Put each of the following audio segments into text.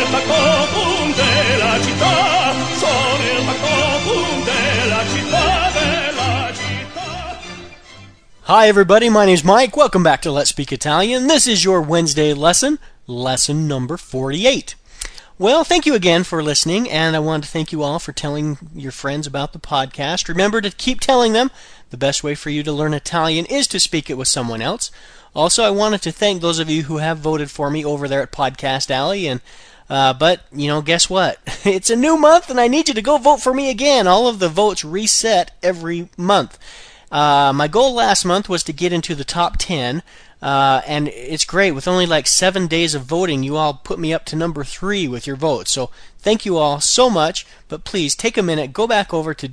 factotum della città, sono il factotum della città, della città. Hi everybody, my name's Mike. Welcome back to Let's Speak Italian. This is your Wednesday lesson number 48. Well, thank you again for listening, and I want to thank you all for telling your friends about the podcast. Remember to keep telling them. The best way for you to learn Italian is to speak it with someone else. Also, I wanted to thank those of you who have voted for me over there at Podcast Alley, and but, guess what? It's a new month, and I need you to go vote for me again. All of the votes reset every month. My goal last month was to get into the top 10, and it's great. With only like 7 days of voting, you all put me up to number 3 with your votes. So thank you all so much, but please take a minute, go back over to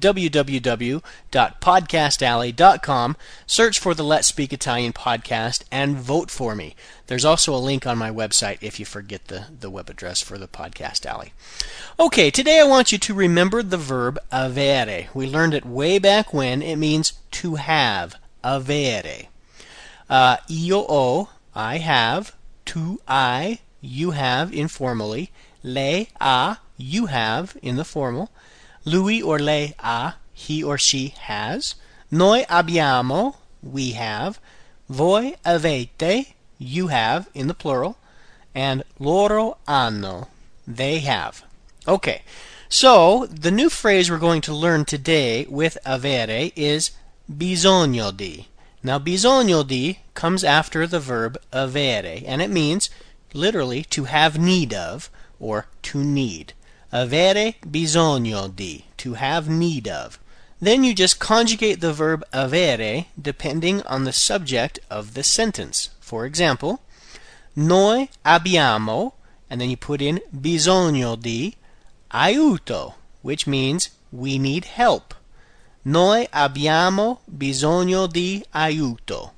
www.podcastalley.com, search for the Let's Speak Italian podcast, and vote for me. There's also a link on my website if you forget the web address for the Podcast Alley. Okay, today I want you to remember the verb avere. We learned it way back when. It means to have, avere. Io ho, I have. Tu hai, you have informally. Lei ha, you have in the formal. Lui or lei ha, he or she has. Noi abbiamo, we have. Voi avete, you have in the plural. And loro hanno, they have. Okay, so the new phrase we're going to learn today with avere is bisogno di. Now, bisogno di comes after the verb avere, and it means literally to have need of or to need. Avere bisogno di, to have need of. Then you just conjugate the verb avere depending on the subject of the sentence. For example, noi abbiamo, and then you put in bisogno di aiuto, which means we need help. Noi abbiamo bisogno di aiuto.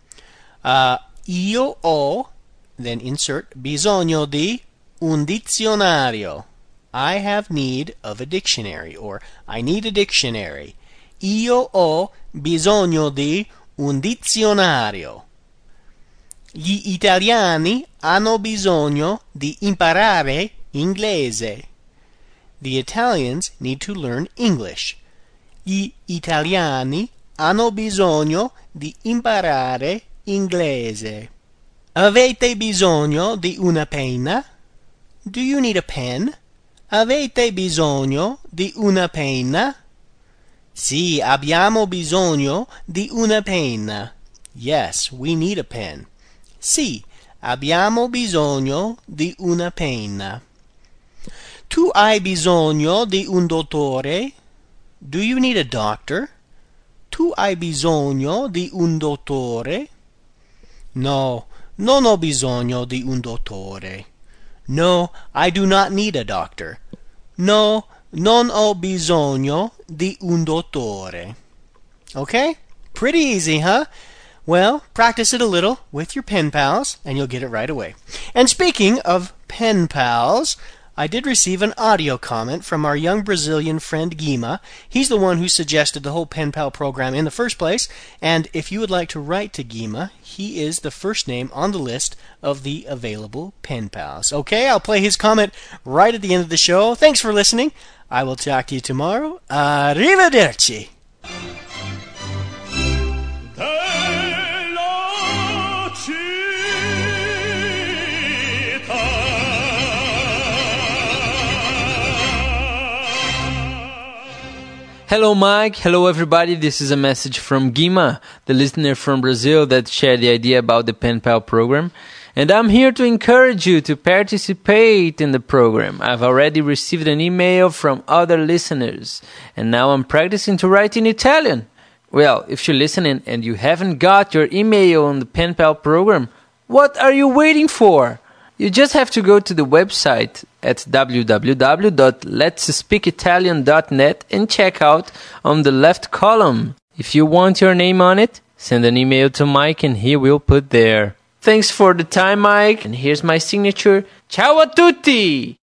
Io ho, then insert bisogno di un dizionario. I have need of a dictionary, or I need a dictionary. Io ho bisogno di un dizionario. Gli italiani hanno bisogno di imparare inglese. The Italians need to learn English. Gli italiani hanno bisogno di imparare inglese. Avete bisogno di una penna? Do you need a pen? Avete bisogno di una penna? Sì, abbiamo bisogno di una penna. Yes, we need a pen. Sì, abbiamo bisogno di una penna. Tu hai bisogno di un dottore? Do you need a doctor? Tu hai bisogno di un dottore? No, non ho bisogno di un dottore. No, I do not need a doctor. No, non ho bisogno di un dottore. Okay? Pretty easy, huh? Well, practice it a little with your pen pals, and you'll get it right away. And speaking of pen pals, I did receive an audio comment from our young Brazilian friend Guima. He's the one who suggested the whole Pen Pal program in the first place, and if you would like to write to Guima, he is the first name on the list of the available Pen Pals. Okay, I'll play his comment right at the end of the show. Thanks for listening. I will talk to you tomorrow. Arrivederci. Hello Mike, hello everybody, this is a message from Guima, the listener from Brazil that shared the idea about the Pen Pal program. And I'm here to encourage you to participate in the program. I've already received an email from other listeners, and now I'm practicing to write in Italian. Well, if you're listening and you haven't got your email on the Pen Pal program, what are you waiting for? You just have to go to the website at www.letsspeakitalian.net and check out on the left column. If you want your name on it, send an email to Mike and he will put there. Thanks for the time, Mike, and here's my signature. Ciao a tutti!